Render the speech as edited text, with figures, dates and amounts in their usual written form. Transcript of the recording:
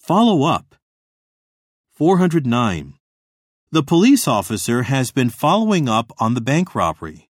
Follow up. 409. The police officer has been following up on the bank robbery.